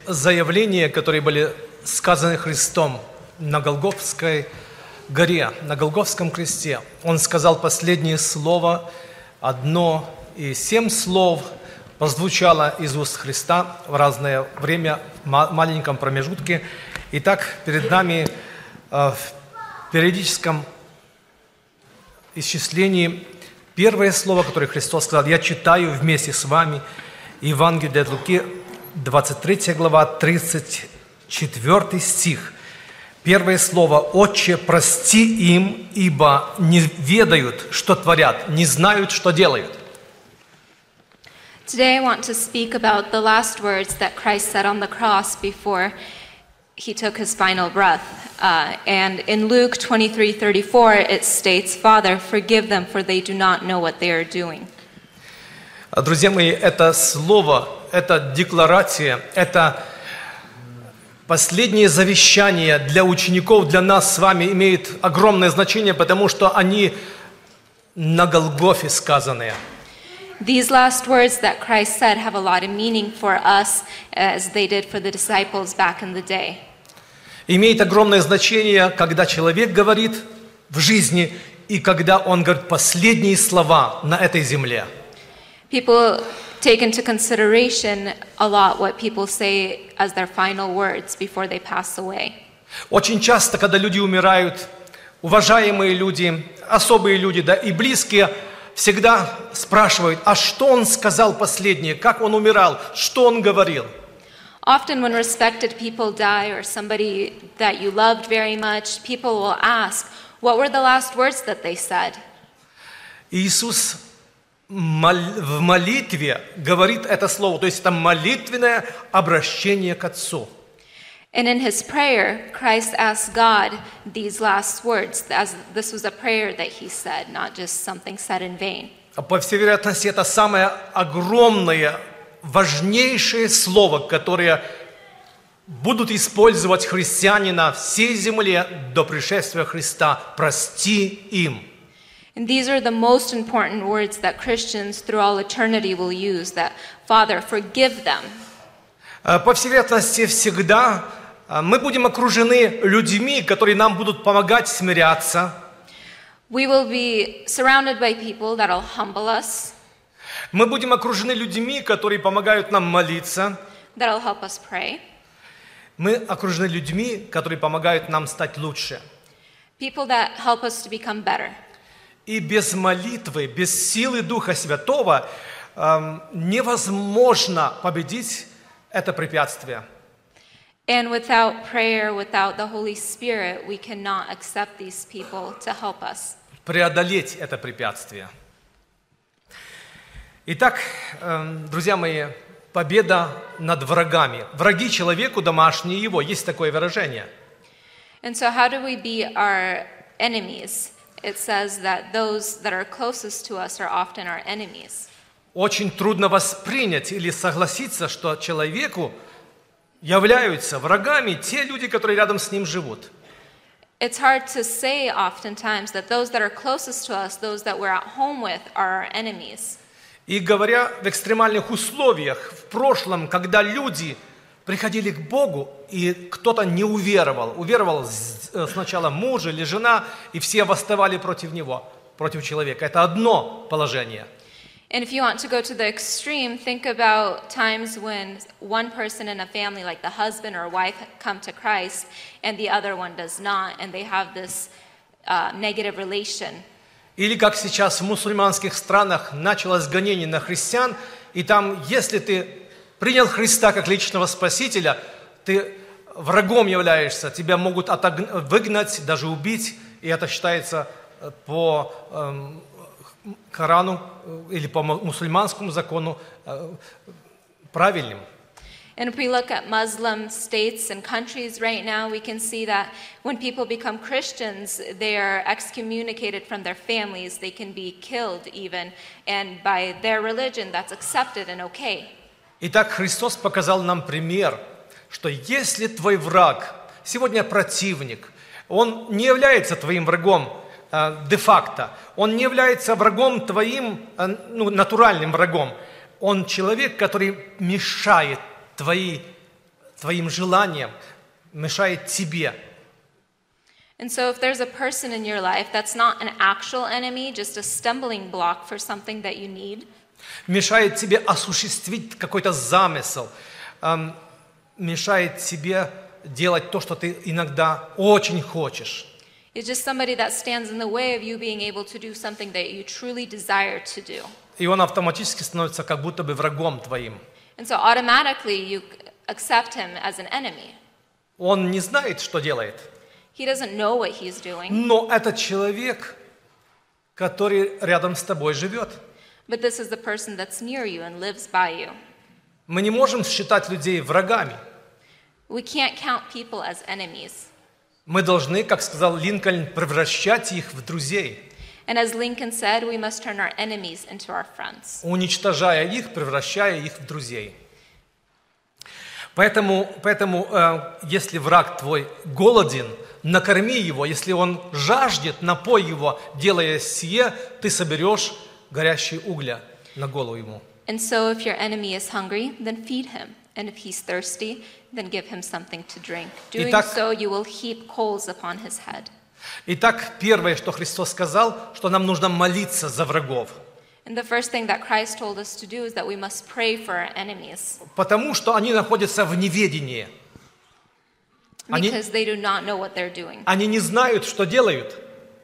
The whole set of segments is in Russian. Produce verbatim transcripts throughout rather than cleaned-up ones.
заявления, которые были сказаны Христом на Голгофской горе, на Голгофском кресте. Он сказал последнее слово, одно, и семь слов прозвучало из уст Христа в разное время, в маленьком промежутке. Итак, перед нами в периодическом исчислении первое слово, которое Христос сказал, я читаю вместе с вами Евангелие от Луки, двадцать третья глава, тридцать четвёртый стих. Первое слово «Отче, прости им, ибо не ведают, что творят, не знают, что делают». Today I want to speak about the last words that Christ said on the cross before he took his final breath. Uh, and in Luke twenty-three thirty-four it states, Father, forgive them, for they do not know what they are doing. Друзья мои, это слово, это декларация, это последнее завещание для учеников, для нас с вами имеет огромное значение, потому что они на Голгофе сказанные. These last words that Christ said have a lot of meaning for us as they did for the disciples back in the day. Имеет огромное значение, когда человек говорит в жизни и когда он говорит последние слова на этой земле. People take into consideration a lot what people say as their final words before they pass away. Очень часто, когда люди умирают, уважаемые люди, особые люди, да, и близкие, всегда спрашивают, а что он сказал последнее, как он умирал, что он говорил. Often when respected people die or somebody that you loved very much, people will ask, what were the last words that they said? Иисус в молитве говорит это слово, то есть это молитвенное обращение к Отцу. And in his prayer, Christ asked God these last words, as this was a prayer that he said, not just something said in vain. По всей вероятности, это самое огромное, важнейшее слово, которое будут использовать христиане на всей земле до пришествия Христа. Прости им. And these are the most important words that Christians through all eternity will use, that, Father, forgive them. По всей вероятности, всегда мы будем окружены людьми, которые нам будут помогать смиряться. We will be surrounded by people that will humble us. Мы будем окружены людьми, которые помогают нам молиться. That will help us pray. Мы окружены людьми, которые помогают нам стать лучше. People that help us to become better. И без молитвы, без силы Духа Святого эм, невозможно победить это препятствие. And without prayer, without the Holy Spirit, we cannot accept these people to help us. Преодолеть это препятствие. Итак, эм, друзья мои, победа над врагами. Враги человеку домашние его. Есть такое выражение. And so how do we beat our enemies? It says that those that are closest to us are often our enemies. Очень трудно воспринять или согласиться, что человеку являются врагами те люди, которые рядом с ним живут. It's hard to say oftentimes that those that are closest to us, those that we're at home with, are our enemies. И говоря в экстремальных условиях, в прошлом, когда люди приходили к Богу, и кто-то не уверовал, уверовал сначала муж или жена, и все восставали против него, против человека. Это одно положение. And if you want to go to the extreme, think about times when one person in a family, like the husband or wife, come to Christ, and the other one does not, and they have this uh, negative relation. Или как сейчас в мусульманских странах началось гонение на христиан, и там, если ты принял Христа как личного спасителя, ты врагом являешься, тебя могут отогнать, выгнать, даже убить, и это считается по эм, Корану или по мусульманскому закону э, правильным. And if we look at Muslim states and countries right now, we can see that when people become Christians, they are excommunicated from their families. They can be killed even. And by their religion, that's accepted and okay. Итак, Христос показал нам пример, что если твой враг, сегодня противник, он не является твоим врагом э, де-факто, он не является врагом твоим, э, ну, натуральным врагом, он человек, который мешает твои твоим желаниям, мешает тебе. And so if there's a person in your life that's not an actual enemy, just a stumbling block for something that you need, Мешает тебе осуществить какой-то замысел, эм, мешает тебе делать то, что ты иногда очень хочешь. it's just somebody that stands in the way of you being able to do something that you truly desire to do. И он автоматически становится как будто бы врагом твоим. And so automatically you accept him as an enemy. Он не знает, что делает. He doesn't know what he's doing, Но это человек, который рядом с тобой живет. but this is the person that's near you and lives by you. Мы не можем считать людей врагами. We can't count people as enemies. Мы должны, как сказал Линкольн, превращать их в друзей, And as Lincoln said, we must turn our enemies into our friends. уничтожая их, превращая их в друзей. Поэтому, поэтому э, если враг твой голоден, накорми его. Если он жаждет, напой его. Делая сие, ты соберешь горящие угля на голову ему. And so if your enemy is hungry, then feed him. And if he's thirsty, then give him something to drink. Doing Итак- so, you will heap coals upon his head. Итак, первое, что Христос сказал, что нам нужно молиться за врагов. And the first thing that Christ told us to do is that we must pray for our enemies, Потому что они находятся в неведении. Они- because they do not know what they're doing. Они не знают, что делают.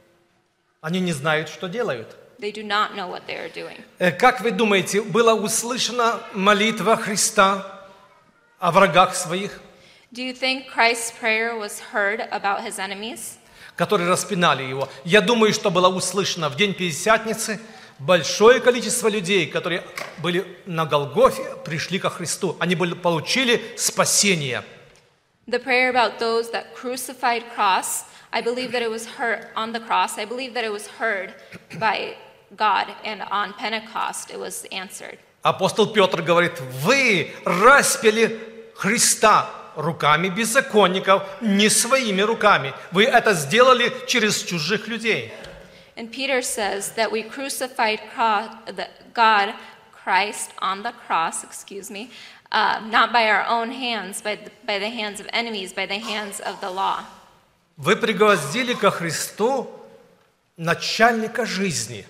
Они не знают, что делают. They do not know what they are doing. Э, Как вы думаете, была услышана молитва Христа о врагах своих, Do you think Christ's prayer was heard about his enemies? которые распинали его? Я думаю, что была услышана в день Пятидесятницы. Большое количество людей, которые были на Голгофе, пришли ко Христу. Они были, получили спасение. The prayer about those that crucified cross, I believe that it was heard on the cross. I believe that it was heard by God, and on Pentecost it was answered. Апостол Петр говорит: вы распяли Христа руками беззаконников, не своими руками. Вы это сделали через чужих людей. And Peter says that we crucified cro- the God, Christ, on the cross, excuse me, uh, not by our own hands, but by the hands of enemies, by the hands of the law. Вы пригвоздили ко Христу начальника жизни.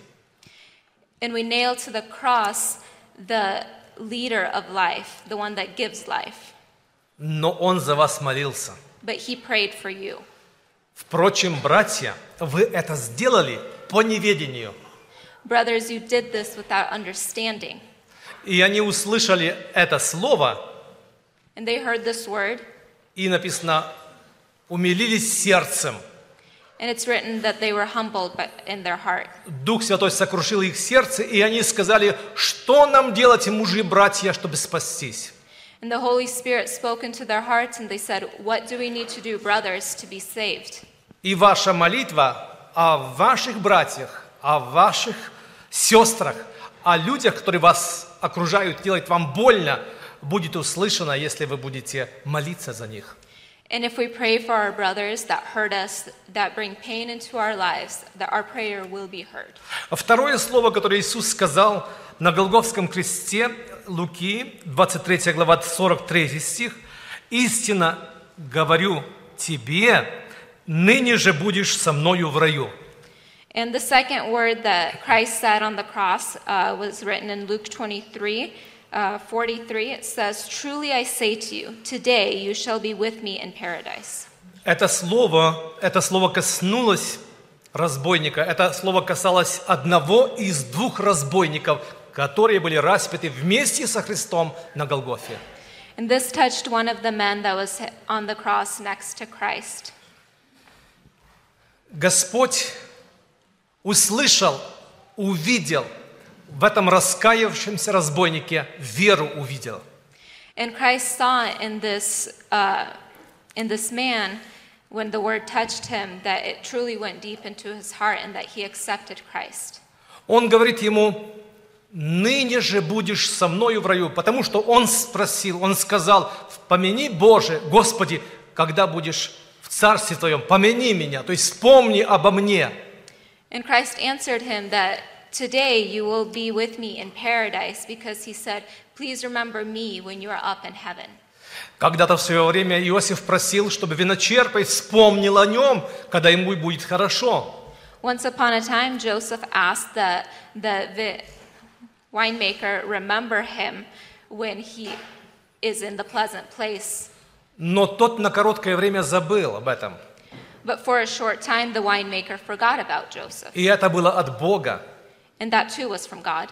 And we nailed to the cross the leader of life, the one that gives life. Но Он за вас молился. But he prayed for you. Впрочем, братья, вы это сделали по неведению. Brothers, you did this without understanding. И они услышали это слово, And they heard this word, и написано, умилились сердцем. and it's written that they were humbled by- in their heart. Дух Святой сокрушил их сердце, и они сказали, что нам делать, мужи и братья, чтобы спастись? And the Holy Spirit spoke into their hearts, and they said, what do we need to do, brothers, to be saved? И ваша молитва о ваших братьях, о ваших сестрах, о людях, которые вас окружают, делает вам больно, будет услышана, если вы будете молиться за них. And if we pray for our brothers that hurt us, that bring pain into our lives, that our prayer will be heard. Второе слово, которое Иисус сказал на Голгофском кресте, Луки, двадцать третья глава, сорок третий стих. «Истинно говорю тебе, ныне же будешь со мною в раю». And the second word that Christ said on the cross uh, was written in Luke twenty-three, uh, forty-three. It says, truly I say to you, today you shall be with me in paradise. Это слово, это слово коснулось разбойника. Это слово касалось одного из двух разбойников, которые были распяты вместе со Христом на Голгофе. And this touched one of the men that was on the cross next to Christ. Господь услышал, увидел в этом раскаявшемся разбойнике, веру увидел. And Christ saw in this, uh, in this man, when the word touched him, that it truly went deep into his heart and that he accepted Christ. Он говорит ему, ныне же будешь со мною в раю, потому что он спросил, он сказал, помяни, Боже, Господи, когда будешь в Царстве Твоем, помяни меня, то есть вспомни обо мне. And Christ answered him that today you will be with me in paradise, because he said, please remember me when you are up in heaven. Когда-то в свое время Иосиф просил, чтобы виночерпай вспомнил о нем, когда ему будет хорошо. Once upon a time, Joseph asked that the, the winemaker remember him when he is in the pleasant place. Но тот на короткое время забыл об этом. But for a short time, the winemaker forgot about Joseph. И это было от Бога. And that too was from God.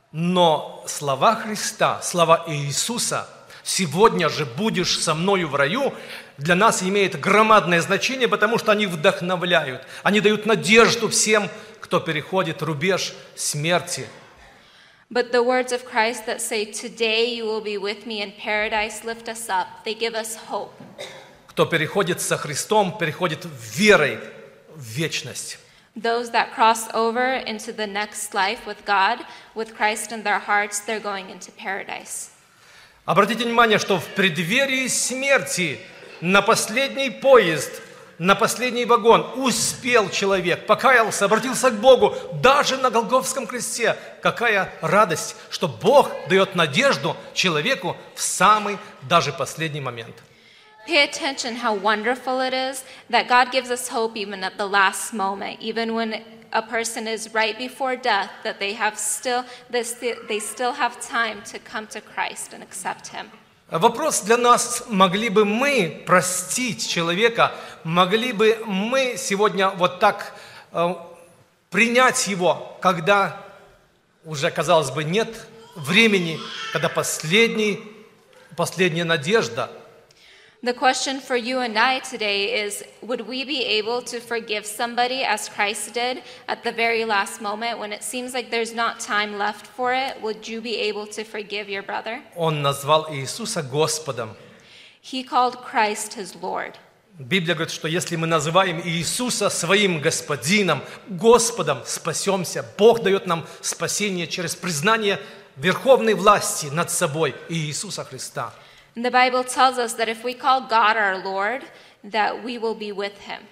Но слова Христа, слова Иисуса «Сегодня же будешь со мною в раю» для нас имеют громадное значение, потому что они вдохновляют, они дают надежду всем, кто переходит рубеж смерти. But the words of Christ that say, "Today you will be with me in paradise," lift us up. They give us hope. Кто переходит со Христом, переходит верой в вечность. Those that cross over into the next life with God, with Christ in their hearts, they're going into paradise. Обратите внимание, что в преддверии смерти на последний поезд, на последний вагон успел человек, покаялся, обратился к Богу, даже на Голгофском кресте. Какая радость, что Бог дает надежду человеку в самый даже последний момент. Pay attention how wonderful it is that God gives us hope even at the last moment, even when a person is right before death, that they have still they still, they still have time to come to Christ and accept Him. Вопрос для нас: могли бы мы простить человека, могли бы мы сегодня вот так э, принять его, когда уже, казалось бы, нет времени, когда последний, последняя надежда. The question for you and I today is, would we be able to forgive somebody as Christ did at the very last moment when it seems like there's not time left for it? Would you be able to forgive your brother? Он назвал Иисуса Господом. He called Christ his Lord. Библия говорит, что если мы называем Иисуса своим Господином, Господом, спасемся. Бог дает нам спасение через признание верховной власти над собой Иисуса Христа. And the Bible tells us that if we call God our Lord, that we will be with Him.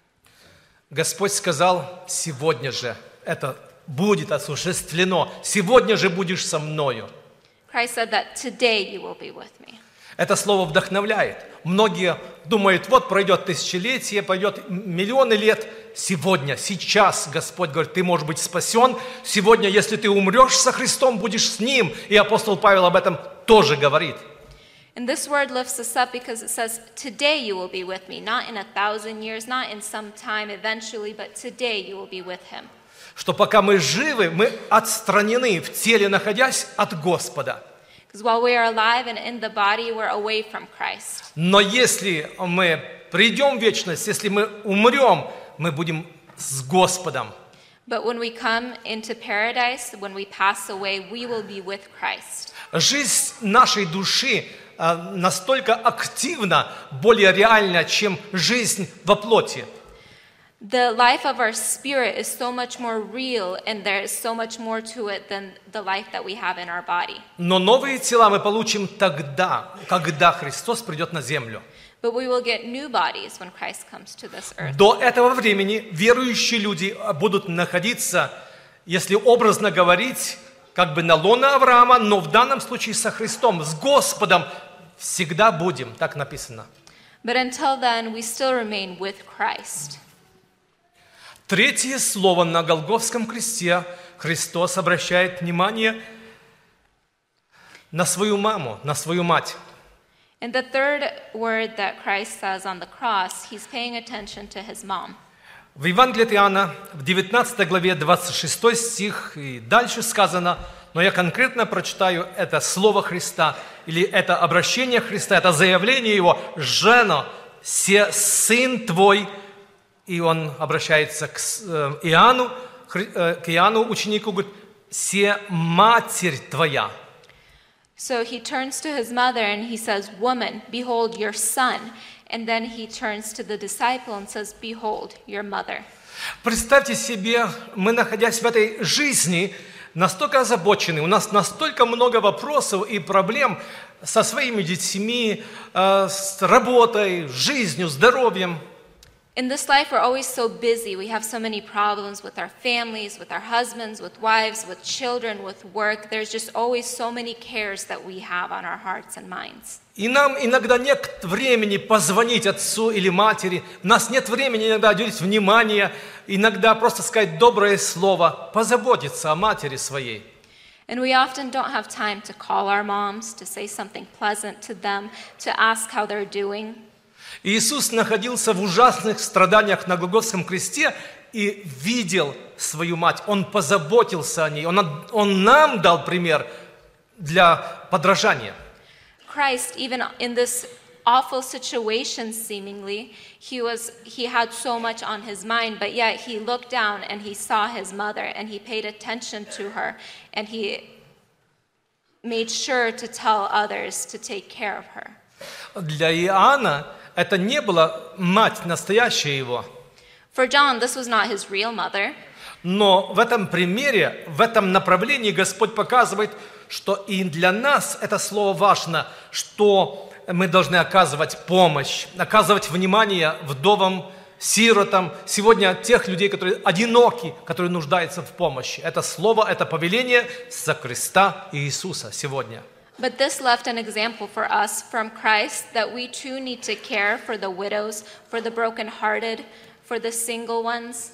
Господь сказал: сегодня же это будет осуществлено, сегодня же будешь со мною. Christ said that today you will be with me. Это слово вдохновляет. Многие думают: вот пройдет тысячелетие, пройдет миллионы лет. Сегодня, сейчас Господь говорит: ты можешь быть спасен. Сегодня, если ты умрешь со Христом, будешь с Ним. И апостол Павел об этом тоже говорит. And this word lifts us up because it says, today you will be with me, not in a thousand years, not in some time eventually, but today you will be with Him. Что пока мы живы, мы отстранены в теле, находясь от Господа. Because while we are alive and in the body, we're away from Christ. Но если мы придем в вечность, если мы умрем, мы будем с Господом. But when we come into paradise, when we pass away, we will be with Christ. Жизнь нашей души настолько активна, более реальна, чем жизнь во плоти. The life of our spirit is so much more real, and there is so much more to it than the life that we have in our body. Но новые тела мы получим тогда, когда Христос придет на землю. But we will get new bodies when Christ comes to this earth. До этого времени верующие люди будут находиться, если образно говорить, как бы на лоне Авраама, но в данном случае со Христом, с Господом всегда будем, так написано. But until then, we still remain with Christ. Третье слово на Голгофском кресте Христос обращает внимание на свою маму, на свою мать. And the third word that Christ says on the cross, He's paying attention to His mom. В Евангелии от Иоанна, в девятнадцатой главе, двадцать шестой стих, и дальше сказано, но я конкретно прочитаю это слово Христа, или это обращение Христа, это заявление Его: «Жена, се сын твой», и Он обращается к Иоанну, к Иоанну, ученику, говорит: «Се матерь твоя». So He turns to His mother and He says, "Woman, behold your son." And then He turns to the disciple and says, "Behold your mother." Представьте себе, мы, находясь в этой жизни, настолько озабочены, у нас настолько много вопросов и проблем со своими детьми, с работой, жизнью, здоровьем. In this life, we're always so busy. We have so many problems with our families, with our husbands, with wives, with children, with work. There's just always so many cares that we have on our hearts and minds. И нам иногда нет времени позвонить отцу или матери. У нас нет времени иногда уделить внимание, иногда просто сказать доброе слово, позаботиться о матери своей. And we often don't have time to call our moms, to say something pleasant to them, to ask how they're doing. Иисус находился в ужасных страданиях на Голгофском кресте и видел свою мать. Он позаботился о ней. Он, он нам дал пример для подражания. Christ, even in this awful situation seemingly, he was he had so much on his mind, but yet he looked down and he saw his mother and he paid attention to her and he made sure to tell others to take care of her. Для Иоанна это не была мать настоящая его. For John, this was not his real mother. Но в этом примере, в этом направлении Господь показывает, что и для нас это слово важно, что мы должны оказывать помощь, оказывать внимание вдовам, сиротам, сегодня тех людей, которые одиноки, которые нуждаются в помощи. Это слово, это повеление за креста Иисуса сегодня. But this left an example for us from Christ that we too need to care for the widows, for the brokenhearted, for the single ones.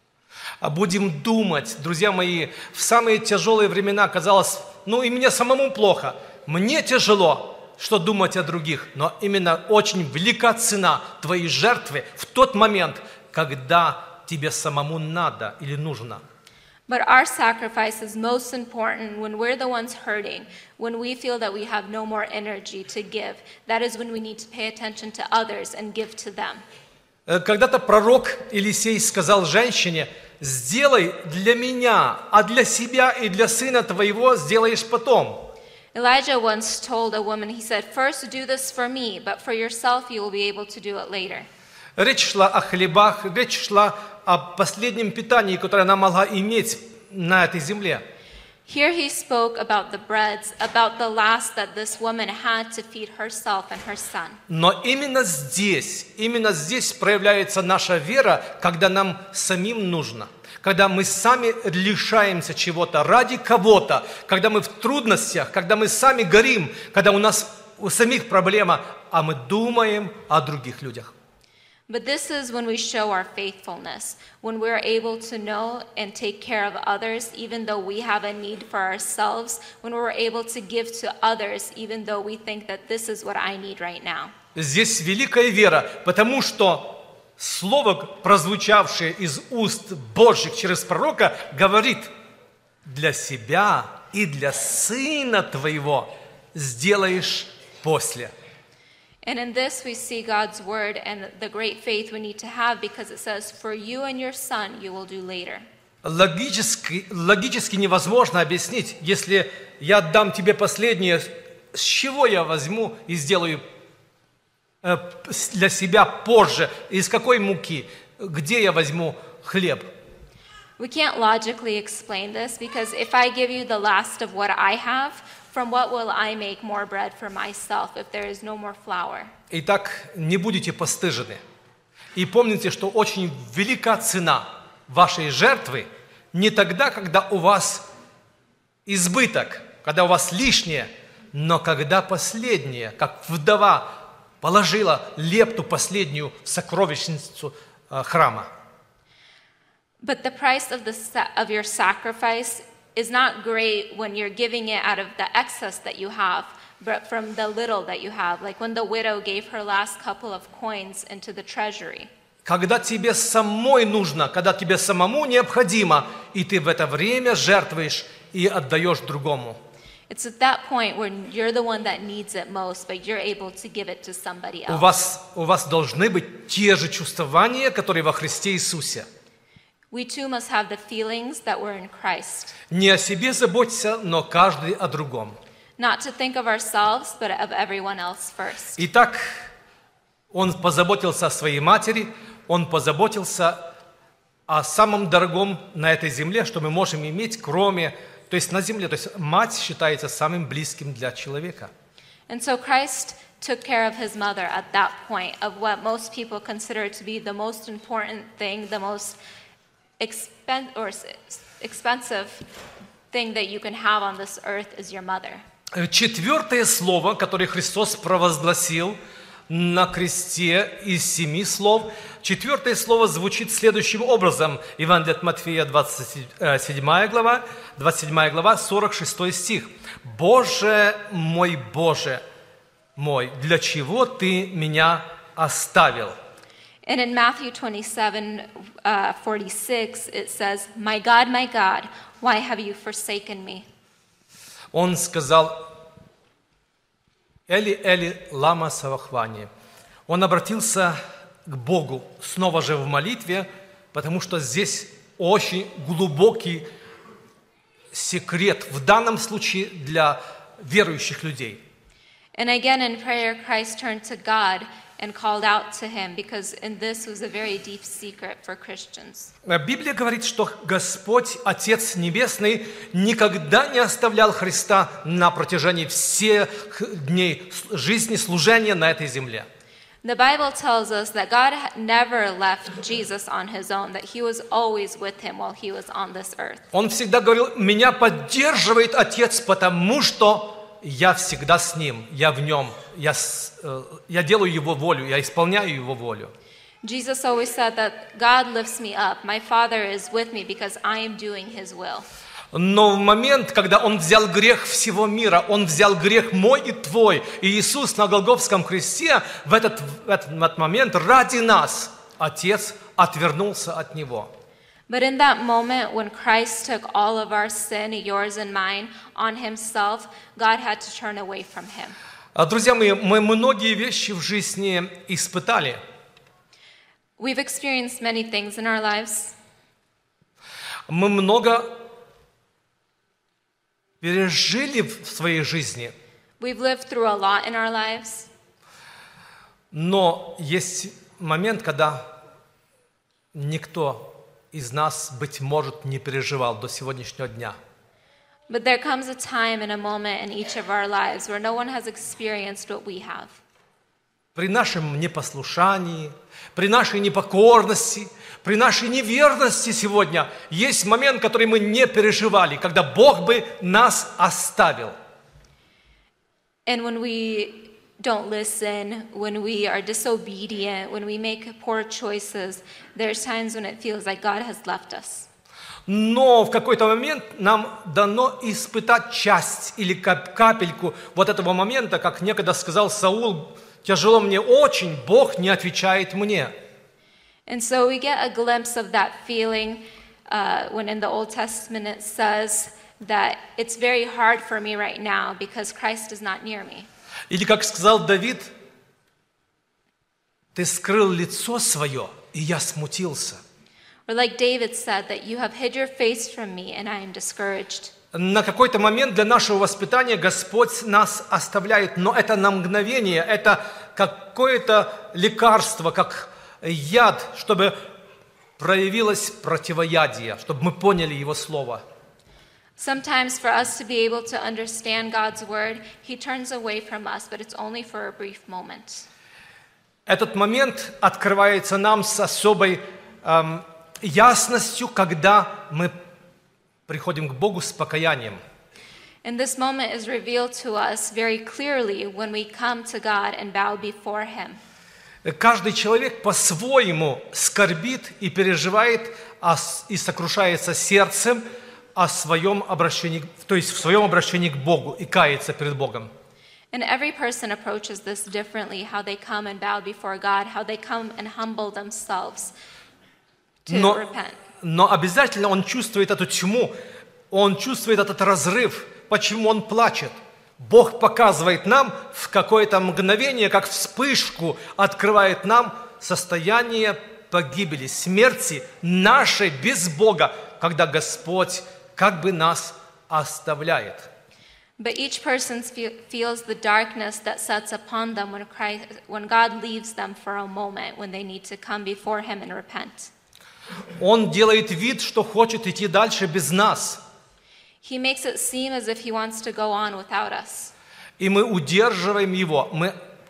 А будем думать, друзья мои, в самые тяжелые времена казалось, ну и мне самому плохо, мне тяжело, что думать о других, но именно очень велика цена твоей жертвы в тот момент, когда тебе самому надо или нужно. But our sacrifice is most important when we're the ones hurting, when we feel that we have no more energy to give. That is when we need to pay attention to others and give to them. Когда-то пророк Елисей сказал женщине: «Сделай для меня, а для себя и для сына твоего сделаешь потом». Elijah once told a woman, he said, "First do this for me, but for yourself you will be able to do it later." Речь шла о хлебах, речь шла о последнем питании, которое она могла иметь на этой земле. Here he spoke about the breads, about the last that this woman had to feed herself and her son. Но именно здесь, именно здесь проявляется наша вера, когда нам самим нужно, когда мы сами лишаемся чего-то ради кого-то, когда мы в трудностях, когда мы сами горим, когда у нас у самих проблема, а мы думаем о других людях. But this is when we show our faithfulness, when we're able to know and take care of others, even though we have a need for ourselves, when we're able to give to others, even though we think that this is what I need right now. Здесь великая вера, потому что слово, прозвучавшее из уст Божьих через пророка, говорит: «Для себя и для сына твоего сделаешь после». And in this we see God's word and the great faith we need to have, because it says, "For you and your son you will do later." Логически, логически невозможно объяснить, если я отдам тебе последнее, с чего я возьму и сделаю для себя позже, из какой муки, где я возьму хлеб. We can't logically explain this, because if I give you the last of what I have, from what will I make more bread for myself if there is no more flour? Итак, не будете постыжены. И помните, что очень велика цена вашей жертвы не тогда, когда у вас избыток, когда у вас лишнее, но когда последнее, как вдова положила лепту последнюю в сокровищницу э, храма. But the price of the sa- of your sacrifice is not great when you're giving it out of the excess that you have, but from the little that you have, like when the widow gave her last couple of coins into the treasury. Когда тебе самой нужно, когда тебе самому необходимо, и ты в это время жертвуешь и отдаешь другому. It's at that point when you're the one that needs it most, but you're able to give it to somebody У else. вас, у вас должны быть те же чувствования, которые во Христе Иисусе. We too must have the feelings that were in Christ. Не о себе заботься, но каждый о другом. Not to think of ourselves, but of everyone else first. Итак, он позаботился о своей матери, он позаботился о самом дорогом на этой земле, что мы можем иметь, кроме, то есть на земле, то есть мать считается самым близким для человека. And so Christ took care of his mother at that point of what most people consider to be the most important thing, the most expen- or s- expensive thing that you can have on this earth is your mother. Четвертое слово, которое Христос провозгласил на кресте из семи слов, четвертое слово звучит следующим образом. Евангелие от Матфея, двадцать седьмая глава, двадцать седьмая глава, сорок шестой стих. «Боже мой, Боже мой, для чего Ты меня оставил?» And in Matthew twenty-seven, uh, forty-six, it says, "My God, my God, why have you forsaken me?" Он сказал: «Эли, Эли, лама савахвани». Он обратился к Богу снова же в молитве, потому что здесь очень глубокий секрет, в данном случае для верующих людей. And again in prayer, Christ turned to God and called out to him, because in this was a very deep secret for Christians. Библия говорит, что Господь, Отец Небесный, никогда не оставлял Христа на протяжении всех дней жизни, служения на этой земле. The Bible tells us that God never left Jesus on his own, that he was always with him while he was on this earth. Он всегда говорил: «Меня поддерживает Отец, потому что я всегда с Ним, я в Нем, я, я делаю Его волю, я исполняю Его волю». Jesus always said that God lifts me up. My Father is with me because I am doing his will. Но в момент, когда Он взял грех всего мира, Он взял грех мой и твой, и Иисус на Голгофском кресте, в этот, в этот момент ради нас Отец отвернулся от Него. But in that moment when Christ took all of our sin, yours and mine, on himself, God had to turn away from him. Друзья мои, мы многие вещи в жизни испытали. We've experienced many things in our lives. Мы много пережили в своей жизни. We've lived through a lot in our lives. Но есть момент, когда никто из нас, быть может, не переживал до сегодняшнего дня. But there comes a time and a moment in each of our lives where no one has experienced what we have. При нашем непослушании, при нашей непокорности, при нашей неверности сегодня есть момент, который мы не переживали, когда Бог бы нас оставил. And when we don't listen, when we are disobedient, when we make poor choices, there's times when it feels like God has left us. Но в какой-то момент нам дано испытать часть или капельку вот этого момента, как некогда сказал Саул: «Тяжело мне очень, Бог не отвечает мне». And so we get a glimpse of that feeling uh, when in the Old Testament it says that it's very hard for me right now because Christ is not near me. Или как сказал Давид: «Ты скрыл лицо свое, и я смутился». Or like David said, that you have hid your face from me and I am discouraged. На какой-то момент для нашего воспитания Господь нас оставляет, но это на мгновение, это какое-то лекарство, как яд, чтобы проявилось противоядие, чтобы мы поняли Его Слово. Sometimes for us to be able to understand God's word, he turns away from us, but it's only for a brief moment. Этот момент открывается нам с особой эм, ясностью, когда мы приходим к Богу с покаянием. And this moment is revealed to us very clearly when we come to God and bow before him. Каждый человек по-своему скорбит и переживает и сокрушается сердцем о своем обращении, то есть в своем обращении к Богу и кается перед Богом. And every person approaches this differently, how they come and bow before God, how they come and humble themselves to Но, repent. но обязательно он чувствует эту тьму, он чувствует этот разрыв. Почему он плачет? Бог показывает нам в какое-то мгновение, как вспышку, открывает нам состояние погибели, смерти нашей без Бога, когда Господь как бы нас оставляет. But each person fe- feels the darkness that sets upon them when Christ, when God leaves them for a moment, when they need to come before him and repent. Он делает вид, что хочет идти дальше без нас. He makes it seem as if he wants to go on without us. И мы удерживаем его, мы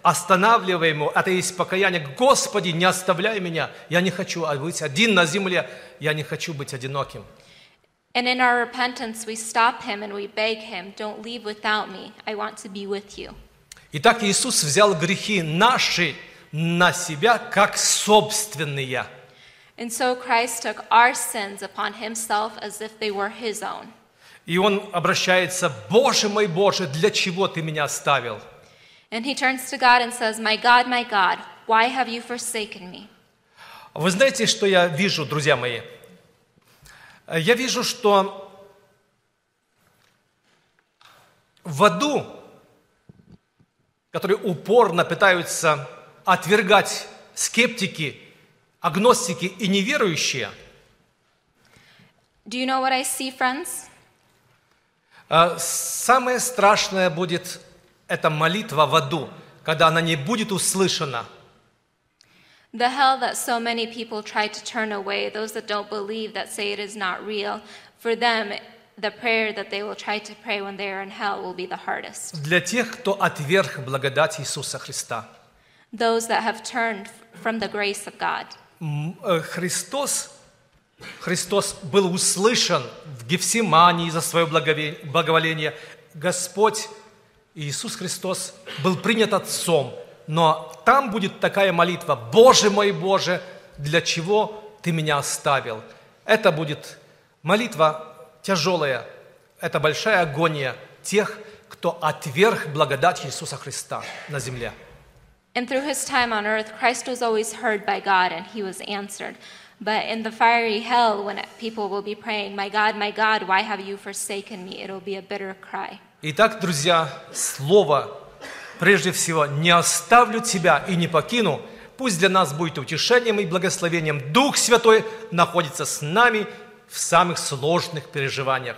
останавливаем его, это есть покаяние. Господи, не оставляй меня, я не хочу быть один на земле, я не хочу быть одиноким. And in our repentance, we stop him and we beg him, don't leave without me. I want to be with you. Итак, Иисус взял грехи наши на себя как собственные. And so Christ took our sins upon himself as if they were his own. И Он обращается: «Боже мой, Боже, для чего Ты меня оставил?» And he turns to God and says, My God, my God, why have you forsaken me? Вы знаете, что я вижу, друзья мои? Я вижу, что в аду, которые упорно пытаются отвергать скептики, агностики и неверующие, Do you know what I see, friends? самое страшное будет эта молитва в аду, когда она не будет услышана. The hell that so many people try to turn away, those that don't believe, that say it is not real, for them, the prayer that they will try to pray when they are in hell will be the hardest. Для тех, кто отверг благодать Иисуса Христа. Those that have turned from the grace of God. Христос, Христос был услышан в Гефсимании за свое благоволение. Господь Иисус Христос был принят Отцом. Но там будет такая молитва: «Боже мой, Боже, для чего Ты меня оставил?» Это будет молитва тяжелая, это большая агония тех, кто отверг благодать Иисуса Христа на земле. And through his time on earth, Christ was always heard by God and he was answered. But in the fiery hell, when people will be praying, My God, my God, why have you forsaken me? It'll be a bitter cry. Итак, друзья, слово прежде всего: «Не оставлю тебя и не покину». Пусть для нас будет утешением и благословением. Дух Святой находится с нами в самых сложных переживаниях.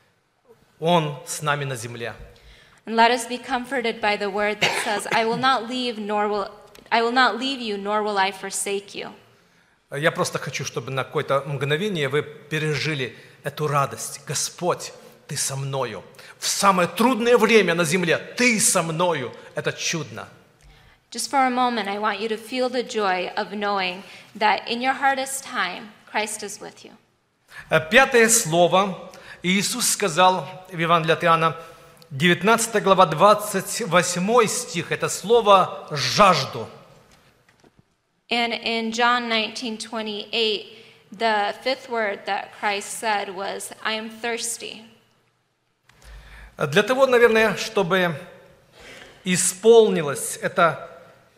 Он с нами на земле. And let us be comforted by the word that says, I will not leave, nor will I will not leave you, nor will I forsake you. Я просто хочу, чтобы на какое-то мгновение вы пережили эту радость. Господь, Ты со мною. В самое трудное время на земле Ты со мною. Это чудно. Just for a moment, I want you to feel the joy of knowing that in your hardest time, Christ is with you. Пятое слово. Иисус сказал в Евангелии от Иоанна, девятнадцатая глава, двадцать восьмой стих. Это слово «жажду». And in John nineteen twenty-eight, the fifth word that Christ said was, I am thirsty. Для того, наверное, чтобы исполнилось это,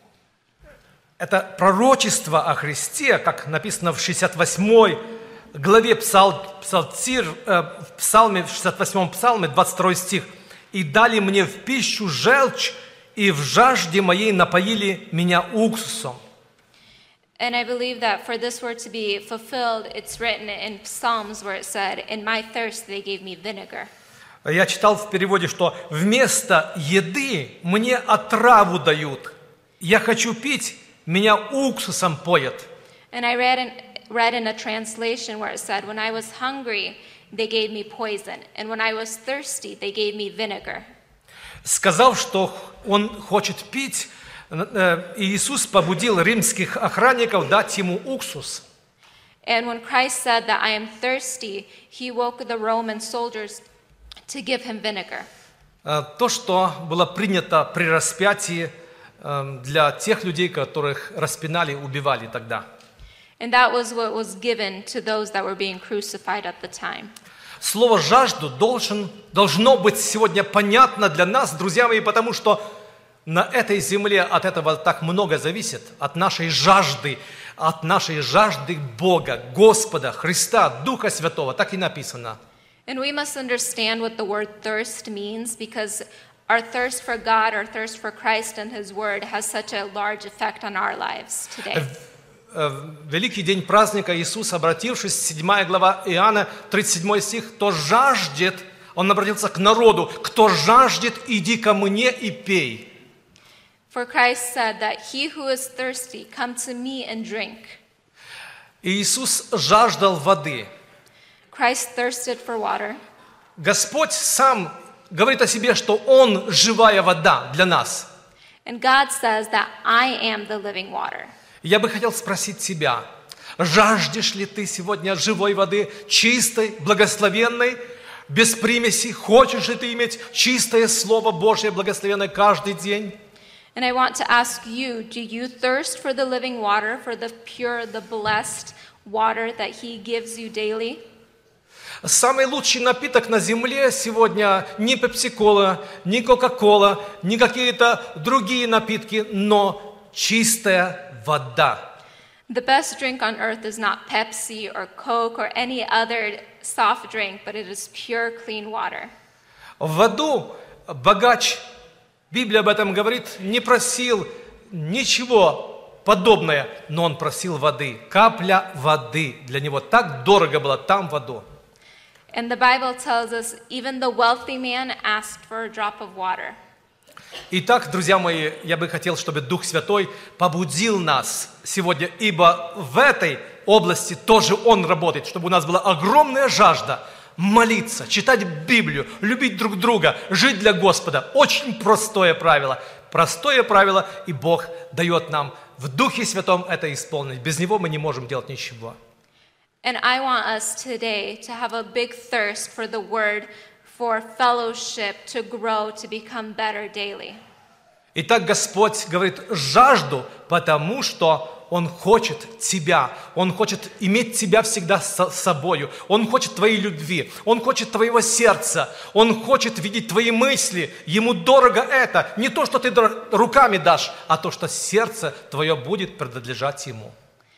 это пророчество о Христе, как написано в шестьдесят восьмой главе Псал, Псалтирь, э, в Псалме, в шестьдесят восьмом Псалме, двадцать второй стих. «И дали мне в пищу желчь, и в жажде моей напоили меня уксусом». And I believe that for this word to be fulfilled, it's written in Psalms where it said, in my thirst they gave me vinegar. Я читал в переводе, что вместо еды мне отраву дают. Я хочу пить, меня уксусом поят. And I read in, read in a translation where it said, when I was hungry, they gave me poison. And when I was thirsty, they gave me vinegar. Сказав, что он хочет пить, Иисус побудил римских охранников дать ему уксус. And when Christ said that I am thirsty, he woke the Roman soldiers to give him vinegar. То, что было принято при распятии для тех людей, которых распинали и убивали тогда. And that was what was given to those that were being crucified at the time. Слово «жажду» должен, должно быть сегодня понятно для нас, друзья мои, потому что на этой земле от этого так много зависит, от нашей жажды, от нашей жажды Бога, Господа, Христа, Духа Святого, так и написано. And we must understand what the word thirst means, because our thirst for God, our thirst for Christ and His Word has such a large effect on our lives today. В великий день праздника Иисус, обратившись, седьмая глава Иоанна, тридцать седьмой стих, «Кто жаждет», Он обратился к народу, «Кто жаждет, иди ко мне и пей». For Christ said that he who is thirsty, come to me and drink. Иисус жаждал воды. Christ thirsted for water. Господь сам говорит о себе, что Он живая вода для нас. And God says that I am the living water. Я бы хотел спросить тебя, жаждешь ли ты сегодня живой воды, чистой, благословенной, без примесей? Хочешь ли ты иметь чистое Слово Божье, благословенное каждый день? And I want to ask you, do you thirst for the living water, for the pure, the blessed water that He gives you daily? Самый лучший напиток на земле сегодня не пепси-кола, не кока-кола, не какие-то другие напитки, но чистая вода. The best drink on earth is not Pepsi or Coke or any other soft drink, but it is pure, clean water. В воду богач, Библия об этом говорит, не просил ничего подобное, но он просил воды. Капля воды для него так дорого было там воду. And the Bible tells us even the wealthy man asked for a drop of water. Итак, друзья мои, я бы хотел, чтобы Дух Святой побудил нас сегодня, ибо в этой области тоже Он работает, чтобы у нас была огромная жажда молиться, читать Библию, любить друг друга, жить для Господа. Очень простое правило. Простое правило, и Бог дает нам в Духе Святом это исполнить. Без Него мы не можем делать ничего. And I want us today to have a big thirst for the Word, for fellowship, to grow, to become better daily. Итак, Господь говорит жажду, потому что Он хочет тебя, Он хочет иметь тебя всегда с собою, Он хочет твоей любви, Он хочет твоего сердца, Он хочет видеть твои мысли, Ему дорого это, не то, что ты руками дашь, а то, что сердце твое будет принадлежать Ему.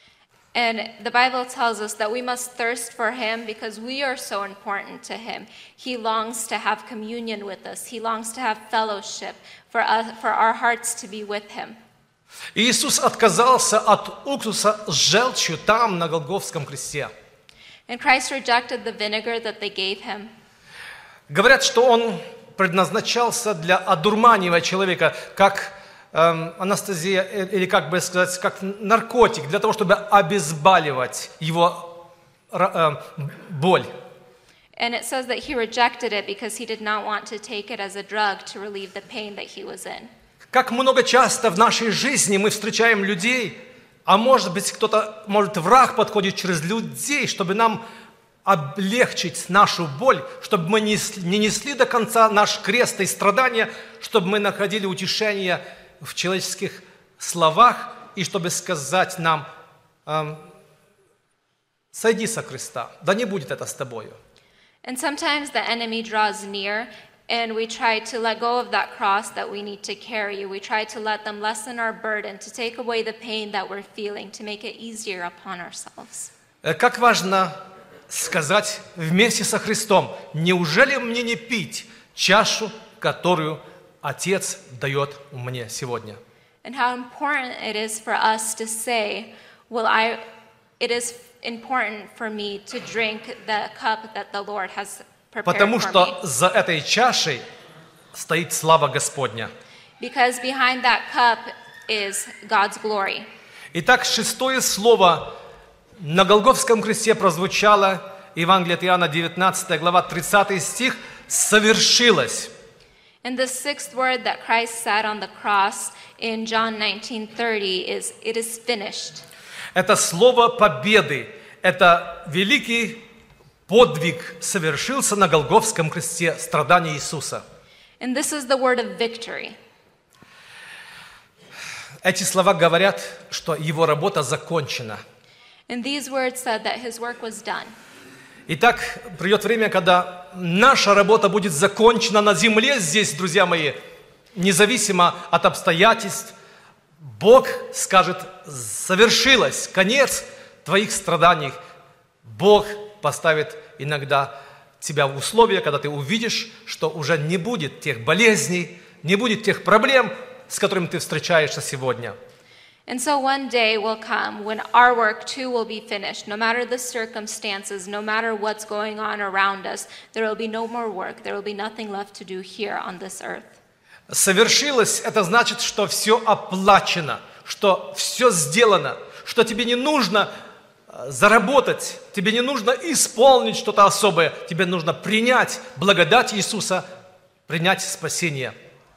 And the Bible tells us that we must thirst for Him because we are so important to Him. He longs to have communion with us. He longs to have fellowship, for us, for our hearts to be with Him. Иисус отказался от уксуса с желчью там, на Голгофском кресте. And Christ rejected the vinegar that they gave Him. Говорят, что Он предназначался для одурманивания человека, как эм, анестезия, или как бы сказать, как наркотик, для того, чтобы обезболивать его э, боль. And it says that He rejected it because He did not want to take it as a drug to relieve the pain that He was in. Как много часто в нашей жизни мы встречаем людей, а может быть кто-то, может враг подходит через людей, чтобы нам облегчить нашу боль, чтобы мы не несли до конца наш крест и страдания, чтобы мы находили утешение в человеческих словах и чтобы сказать нам, эм, сойди со креста, да не будет это с тобою. And sometimes the enemy draws near, and we try to let go of that cross that we need to carry. We try to let them lessen our burden, to take away the pain that we're feeling, to make it easier upon ourselves. Как важно сказать вместе со Христом, неужели мне не пить чашу, которую Отец дает мне сегодня? And how important it is for us to say, well, I, it is important for me to drink the cup that the Lord has prepared Потому for что me. за этой чашей стоит слава Господня. Because behind that cup is God's glory. Итак, шестое слово на Голгофском кресте прозвучало, Евангелие от Иоанна, девятнадцатая глава, тридцатый стих, «совершилось». And the sixth word that Christ said on the cross in John nineteen thirty is, it is finished. Это слово победы, это великий подвиг совершился на Голгофском кресте, страдания Иисуса. And this is the word of victory. Эти слова говорят, что его работа закончена. And these words said that His work was done. Итак, придет время, когда наша работа будет закончена на земле здесь, друзья мои, независимо от обстоятельств. Бог скажет, совершилось, конец твоих страданий. Бог поставит иногда тебя в условия, когда ты увидишь, что уже не будет тех болезней, не будет тех проблем, с которыми ты встречаешься сегодня. And so one day will come when our work too will be finished. No matter the circumstances, no matter what's going on around us, there will be no more work. There will be nothing left to do here on this earth. Совершилось, это значит, что все оплачено, что все сделано, что тебе не нужно заработать, тебе не нужно исполнить что-то особое, тебе нужно принять благодать Иисуса, принять спасение.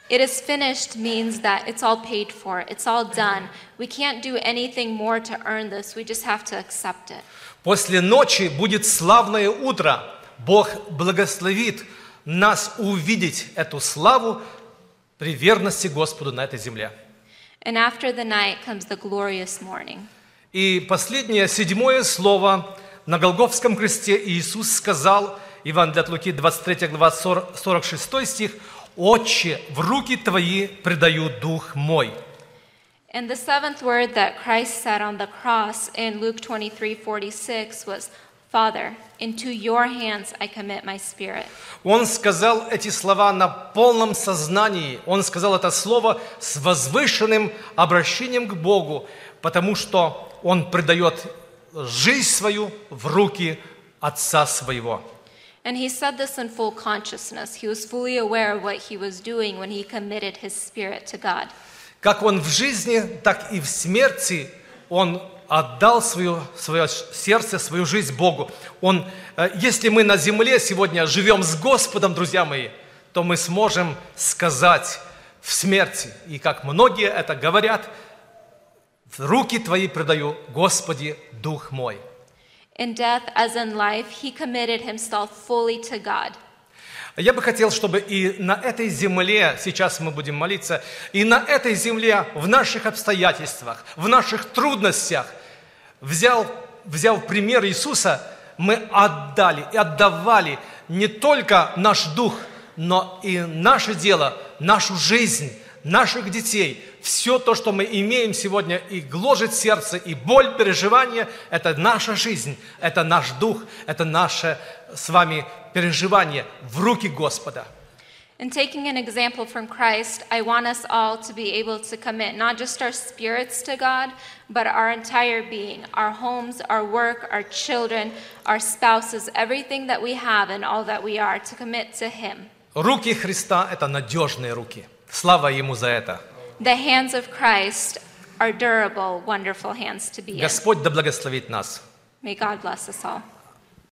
It is finished means that it's all paid for, it's all done. We can't do anything more to earn this, we just have to accept it. После ночи будет славное утро. Бог благословит нас увидеть эту славу при верности Господу на этой земле. And after the night comes the glorious morning. И последнее, седьмое слово. На Голгофском кресте Иисус сказал, Евангелие от Луки, двадцать третья глава, сорок шестой стих, «Отче, в руки Твои предаю дух мой». And the seventh word that Christ said on the cross in Luke twenty-three forty-six was, Father, into your hands I commit my spirit. Он сказал эти слова на полном сознании. Он сказал это слово с возвышенным обращением к Богу, потому что он предает жизнь свою в руки Отца Своего. And he said this in full consciousness. He was fully aware of what he was doing when he committed his spirit to God. Как он в жизни, так и в смерти он отдал свое, свое сердце, свою жизнь Богу. Он, если мы на земле сегодня живем с Господом, друзья мои, то мы сможем сказать в смерти, и как многие это говорят, в руки Твои предаю, Господи, дух мой. In death as in life, he committed himself fully to God. Я бы хотел, чтобы и на этой земле, сейчас мы будем молиться, и на этой земле, в наших обстоятельствах, в наших трудностях, взял, взял пример Иисуса, мы отдали и отдавали не только наш дух, но и наше дело, нашу жизнь, наших детей. Все то, что мы имеем сегодня, и гложет сердце, и боль, переживания, это наша жизнь, это наш дух, это наше с вами переживание в руки Господа. And taking an example from Christ, I want us all to be able to commit not just our spirits to God, but our entire being, our homes, our work, our children, our spouses, everything that we have and all that we are, to commit to Him. Руки Христа – это надежные руки. Слава Ему за это. The hands of Christ are durable, wonderful hands to be in. Господь да благословит нас. May God bless us all.